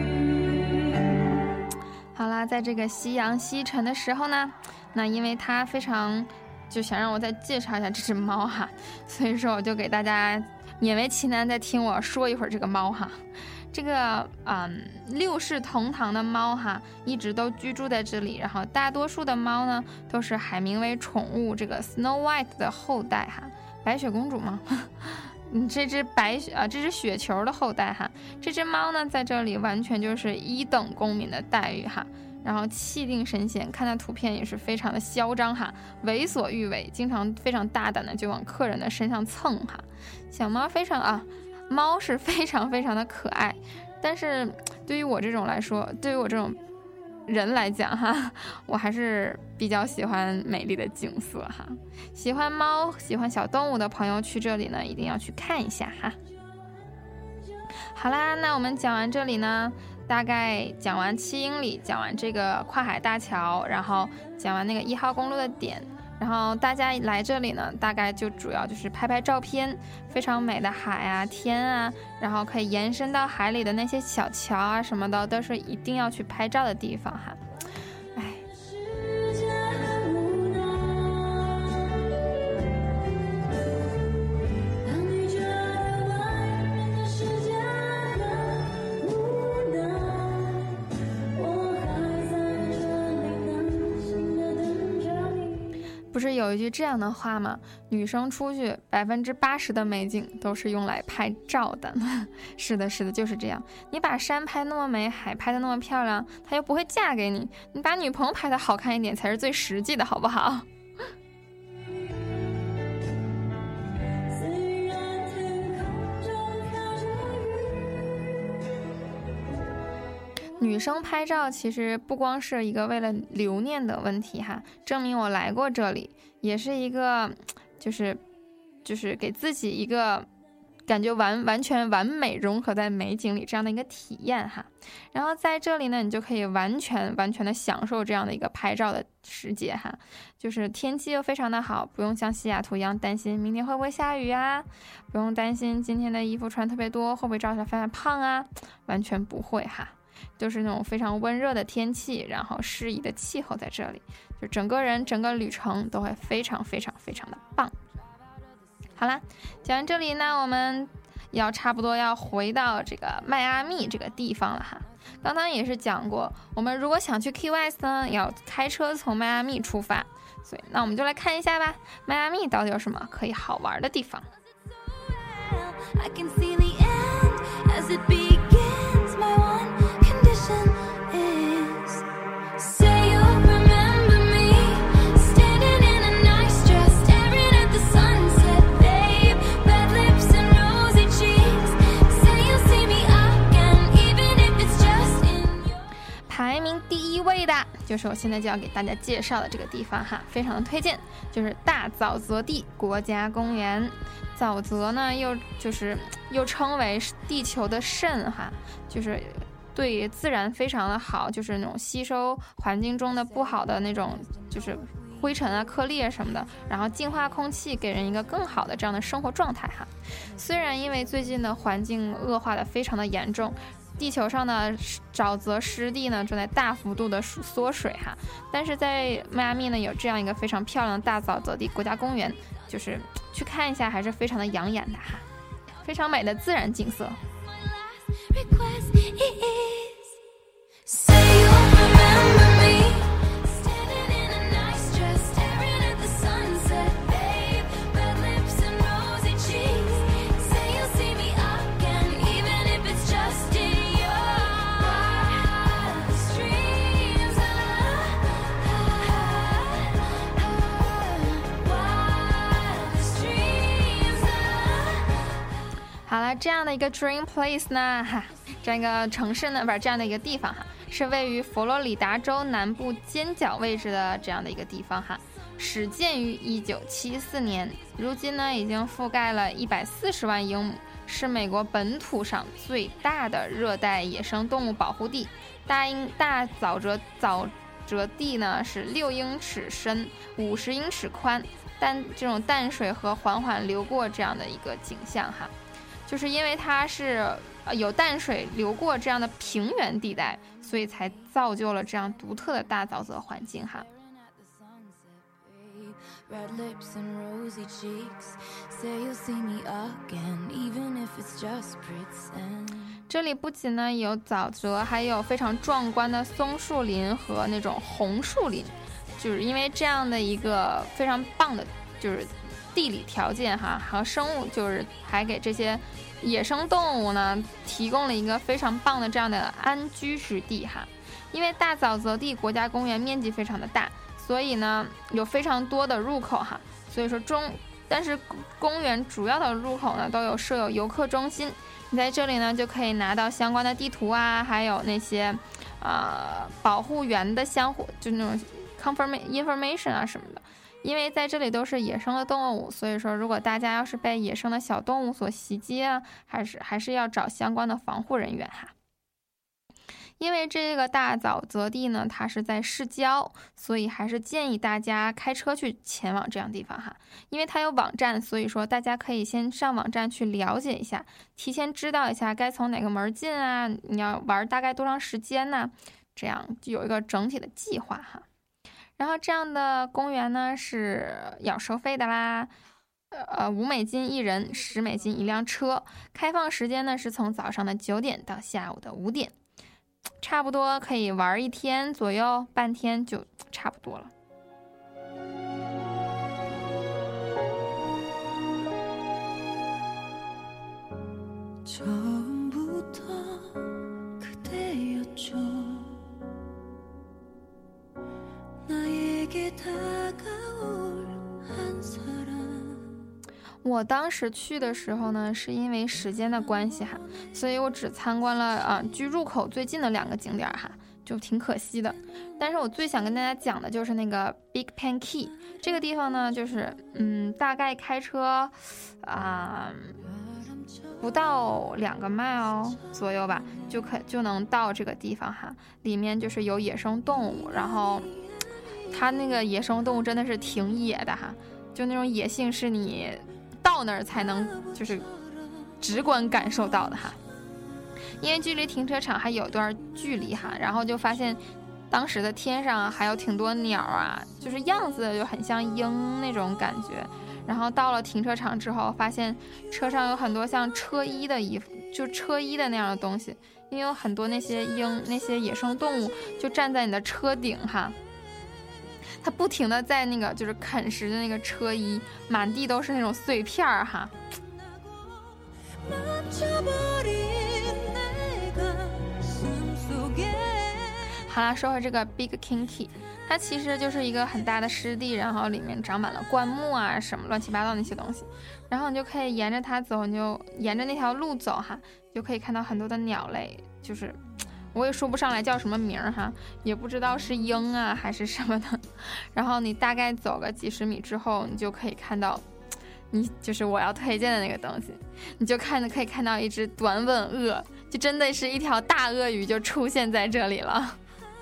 好啦，在这个夕阳西沉的时候呢，那因为它非常就想让我再介绍一下这只猫哈，所以说我就给大家勉为其难再听我说一会儿这个猫哈。这个嗯六世同堂的猫哈，一直都居住在这里，然后大多数的猫呢都是海明威宠物这个 Snow White 的后代哈，白雪公主吗？嗯，这只白雪啊，这只雪球的后代哈，这只猫呢在这里完全就是一等公民的待遇哈，然后气定神闲，看那图片也是非常的嚣张哈，为所欲为，经常非常大胆的就往客人的身上蹭哈。小猫非常啊，猫是非常非常的可爱，但是对于我这种来说，对于我这种人来讲哈，我还是比较喜欢美丽的景色哈。喜欢猫、喜欢小动物的朋友去这里呢，一定要去看一下哈。好啦，那我们讲完这里呢，大概讲完七英里，讲完这个跨海大桥，然后讲完那个一号公路的点，然后大家来这里呢，大概就主要就是拍拍照片，非常美的海啊、天啊，然后可以延伸到海里的那些小桥啊什么的，都是一定要去拍照的地方哈。哎。不是有一句这样的话吗？女生出去百分之八十的美景都是用来拍照的。是的，是的，就是这样。你把山拍那么美，海拍的那么漂亮，她又不会嫁给你。你把女朋友拍的好看一点才是最实际的，好不好？女生拍照其实不光是一个为了留念的问题哈，证明我来过这里，也是一个就是就是给自己一个感觉完完全完美融合在美景里这样的一个体验哈。然后在这里呢，你就可以完全完全的享受这样的一个拍照的世界哈。就是天气又非常的好，不用像西雅图一样担心明天会不会下雨啊，不用担心今天的衣服穿特别多会不会照起来发现胖啊，完全不会哈。就是那种非常温热的天气，然后适宜的气候在这里，就整个人整个旅程都会非常非常非常的棒。好啦，讲完这里呢，我们要差不多要回到这个迈阿密这个地方了哈。刚刚也是讲过，我们如果想去 Key West 呢，要开车从迈阿密出发，所以那我们就来看一下吧，迈阿密到底有什么可以好玩的地方。I can see the end as it begins. My one condition is say you'll remember me standing in a nice dress staring at the sunset, babe. Red lips and rosy cheeks. Say you'll see me again even if it's just in your 排名第一位的就是我现在就要给大家介绍的这个地方哈，非常的推荐，就是大沼泽地国家公园。沼泽呢，又就是又称为地球的肾哈，就是对自然非常的好，就是那种吸收环境中的不好的那种就是灰尘啊、颗粒啊什么的，然后净化空气，给人一个更好的这样的生活状态哈。虽然因为最近的环境恶化的非常的严重，地球上的沼泽湿地呢正在大幅度的缩水哈，但是在迈阿密呢有这样一个非常漂亮的大沼泽地国家公园，就是去看一下还是非常的养眼的哈，非常美的自然景色。好了，这样的一个 Dream Place 呢，哈，这样一个城市呢，不是这样的一个地方哈，是位于佛罗里达州南部尖角位置的这样的一个地方哈，始建于一九七四年，如今呢已经覆盖了一百四十万英亩，是美国本土上最大的热带野生动物保护地。大英大沼泽沼泽地呢是六英尺深，五十英尺宽，但这种淡水河缓缓流过这样的一个景象哈。就是因为它是有淡水流过这样的平原地带，所以才造就了这样独特的大沼泽环境哈。这里不仅呢有沼泽，还有非常壮观的松树林和那种红树林，就是因为这样的一个非常棒的就是地理条件哈，和生物就是还给这些野生动物呢提供了一个非常棒的这样的安居之地哈。因为大沼泽地国家公园面积非常的大，所以呢有非常多的入口哈，所以说中但是公园主要的入口呢都有设有游客中心，你在这里呢就可以拿到相关的地图啊，还有那些呃保护员的相互就那种 information 啊什么的。因为在这里都是野生的动物，所以说如果大家要是被野生的小动物所袭击啊，还是还是要找相关的防护人员哈。因为这个大沼泽地呢，它是在市郊，所以还是建议大家开车去前往这样的地方哈。因为它有网站，所以说大家可以先上网站去了解一下，提前知道一下该从哪个门进啊，你要玩大概多长时间呢，这样就有一个整体的计划哈。然后这样的公园呢是要收费的啦，呃，五美金一人，十美金一辆车。开放时间呢是从早上的九点到下午的五点，差不多可以玩一天左右，半天就差不多了。我当时去的时候呢，是因为时间的关系哈，所以我只参观了啊距入口最近的两个景点哈，就挺可惜的。但是我最想跟大家讲的就是那个 Big Pan Key 这个地方呢，就是嗯，大概开车啊、呃、 不到两个 mile 左右吧，就可就能到这个地方哈。里面就是有野生动物，然后它那个野生动物真的是挺野的哈，就那种野性是你到那儿才能就是直观感受到的哈。因为距离停车场还有段距离哈，然后就发现当时的天上还有挺多鸟啊，就是样子就很像鹰那种感觉。然后到了停车场之后，发现车上有很多像车衣的衣服，就车衣的那样的东西，因为有很多那些鹰那些野生动物就站在你的车顶哈，它不停的在那个就是啃食的那个车衣，满地都是那种碎片哈。好啦，说回这个 Big Kinki， 它其实就是一个很大的湿地，然后里面长满了灌木啊什么乱七八糟那些东西，然后你就可以沿着它走，你就沿着那条路走哈，就可以看到很多的鸟类，就是我也说不上来叫什么名哈，也不知道是鹰啊还是什么的。然后你大概走个几十米之后，你就可以看到你就是我要推荐的那个东西，你就看可以看到一只短吻鳄，就真的是一条大鳄鱼就出现在这里了。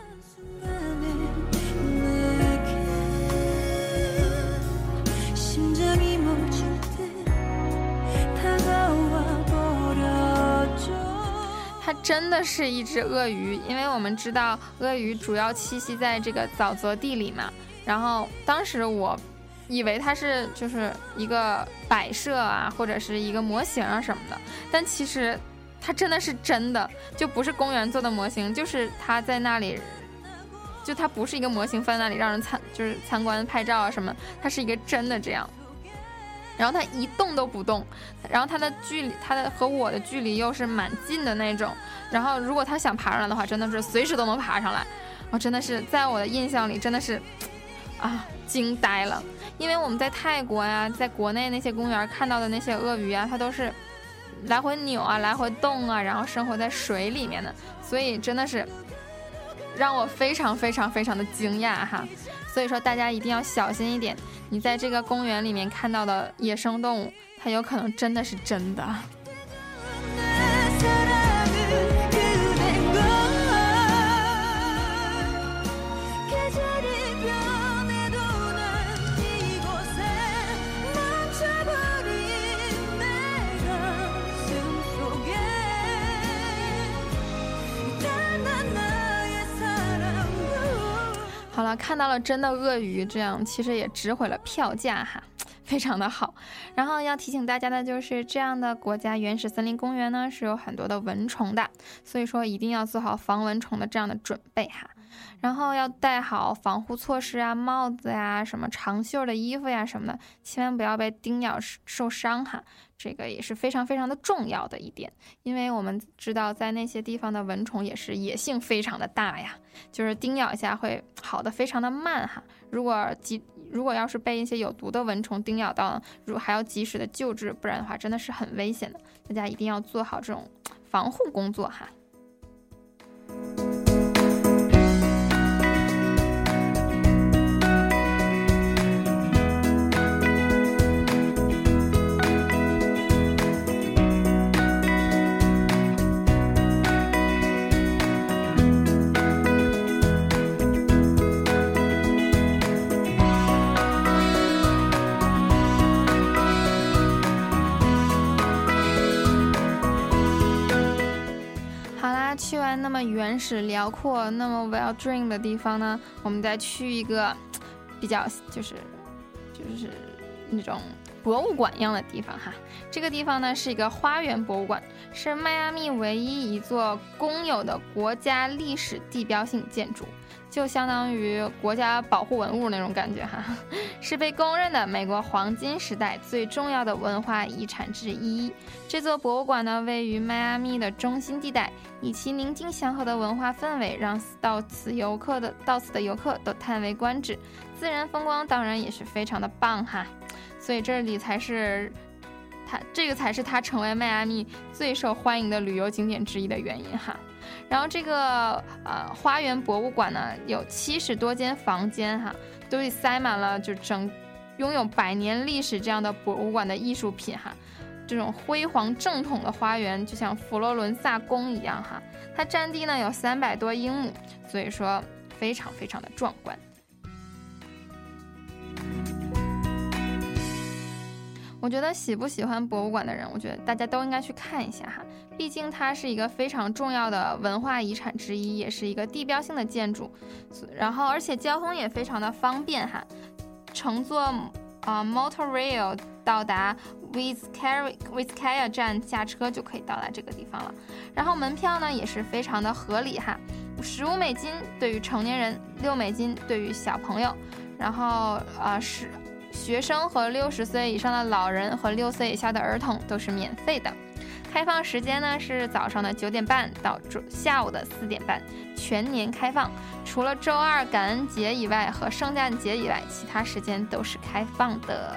它真的是一只鳄鱼，因为我们知道鳄鱼主要栖息在这个沼泽地里嘛，然后当时我以为它是就是一个摆设啊，或者是一个模型啊什么的，但其实它真的是真的，就不是公园做的模型，就是它在那里，就它不是一个模型放在那里让人参就是参观拍照啊什么，它是一个真的这样。然后它一动都不动，然后它的距离，它的和我的距离又是蛮近的那种。然后如果它想爬上来的话，真的是随时都能爬上来。我真的是在我的印象里真的是啊惊呆了，因为我们在泰国呀，在国内那些公园看到的那些鳄鱼啊，它都是来回扭啊，来回动啊，然后生活在水里面的，所以真的是让我非常非常非常的惊讶哈。所以说大家一定要小心一点，你在这个公园里面看到的野生动物，它有可能真的是真的。好了，看到了真的鳄鱼，这样其实也值回了票价哈，非常的好。然后要提醒大家的就是，这样的国家原始森林公园呢是有很多的蚊虫的，所以说一定要做好防蚊虫的这样的准备哈。然后要带好防护措施啊，帽子呀、什么长袖的衣服呀什么的，千万不要被叮咬受伤哈。这个也是非常非常的重要的一点，因为我们知道在那些地方的蚊虫也是野性非常的大呀，就是叮咬一下会好的非常的慢哈。如果及如果要是被一些有毒的蚊虫叮咬到，如还要及时的救治，不然的话真的是很危险的。大家一定要做好这种防护工作哈。去完那么原始辽阔那么 well dream 的地方呢，我们再去一个比较就是就是那种博物馆一样的地方哈。这个地方呢是一个花园博物馆，是迈阿密唯一一座公有的国家历史地标性建筑，就相当于国家保护文物那种感觉哈，是被公认的美国黄金时代最重要的文化遗产之一。这座博物馆呢位于迈阿密的中心地带，以其宁静祥和的文化氛围，让到此游客的到此的游客都叹为观止，自然风光当然也是非常的棒哈。所以这里才是它这个才是它成为迈阿密最受欢迎的旅游景点之一的原因哈。然后这个呃花园博物馆呢有七十多间房间哈，都塞满了就整拥有百年历史这样的博物馆的艺术品哈。 这种辉煌正统的花园，就像佛罗伦萨宫一样哈。它占地呢有三百多英亩，所以说非常非常的壮观。我觉得喜不喜欢博物馆的人，我觉得大家都应该去看一下哈，毕竟它是一个非常重要的文化遗产之一，也是一个地标性的建筑，然后而且交通也非常的方便哈，乘坐呃 Motorrail 到达 Vizcaya 站下车就可以到达这个地方了。然后门票呢也是非常的合理哈，十五美金对于成年人，六美金对于小朋友，然后呃是。学生和六十岁以上的老人和六岁以下的儿童都是免费的。开放时间呢是早上的九点半到下午的四点半，全年开放。除了周二感恩节以外和圣诞节以外，其他时间都是开放的。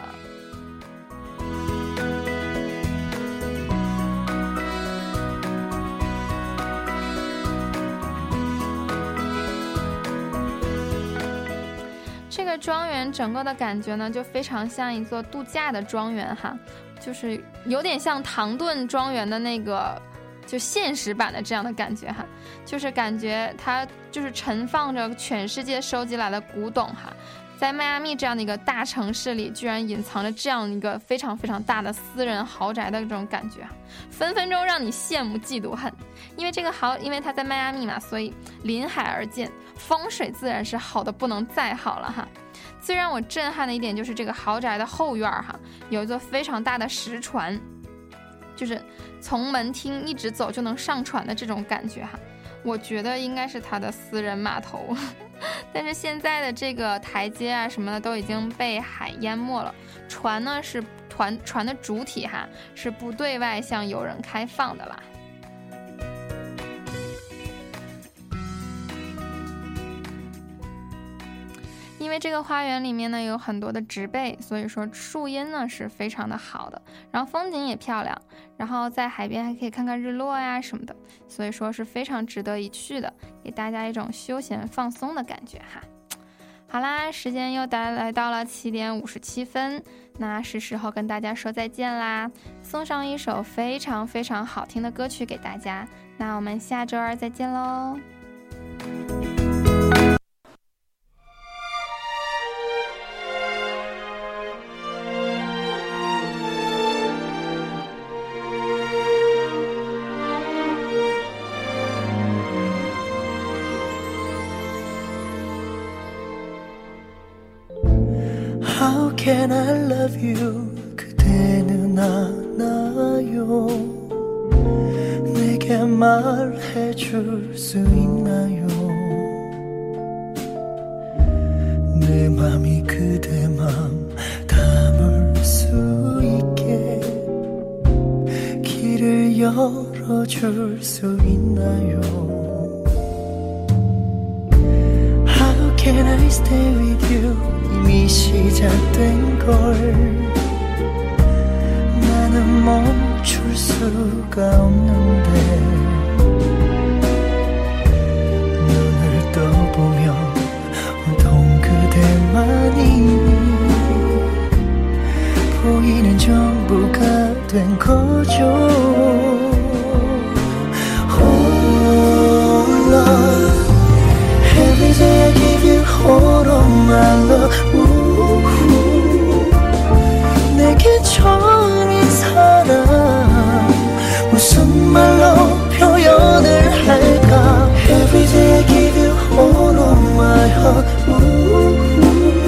这个庄园整个的感觉呢，就非常像一座度假的庄园哈，就是有点像唐顿庄园的那个就现实版的这样的感觉哈，就是感觉它就是盛放着全世界收集来的古董哈。在迈阿密这样的一个大城市里，居然隐藏着这样一个非常非常大的私人豪宅的这种感觉，分分钟让你羡慕嫉妒恨。因为这个豪，因为它在迈阿密嘛，所以临海而建，风水自然是好的不能再好了哈。最让我震撼的一点就是这个豪宅的后院哈，有一座非常大的石船，就是从门厅一直走就能上船的这种感觉哈。我觉得应该是他的私人码头，但是现在的这个台阶啊什么的都已经被海淹没了。船呢是船船的主体哈，是不对外向游人开放的啦。因为这个花园里面呢有很多的植被，所以说树荫呢是非常的好的，然后风景也漂亮，然后在海边还可以看看日落呀什么的，所以说是非常值得一去的，给大家一种休闲放松的感觉哈。好啦，时间又来到了七点五十七分，那是时候跟大家说再见啦，送上一首非常非常好听的歌曲给大家，那我们下周二再见喽。 How can I love you? 그대는 알아요. 내게 말해줄 수 있나요? 내 맘이 그대 맘 담을 수 있게 길을 열어줄 수 있나요? How can I stay with you? 이미 시작된 걸 나는 멈출 수가 없는데 눈을 떠보면 온통 그대만이 보이는 전부가 된 거죠. Oh love, every day I give you all of my love. 내게 처음인 사랑 무슨 말로 표현을 할까. Every day I give you all of my heart.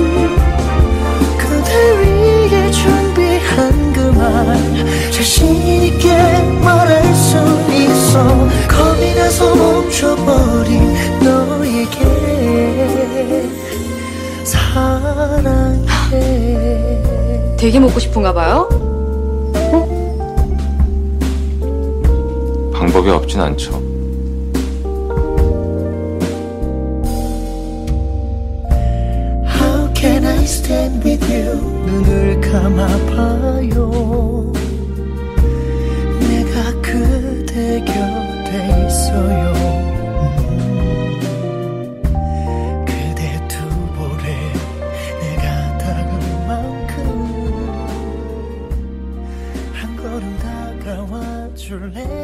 그대 위해 준비한 그 말 자신있게 말할 수 있어. 겁이 나서 멈춰버린 너에게 사랑해. 되게 먹고 싶은가 봐요? 어? 방법이 없진 않죠. How can I stand with you? 눈을 감아봐요. 내가 그대 곁에 있어요. 걸음 줄래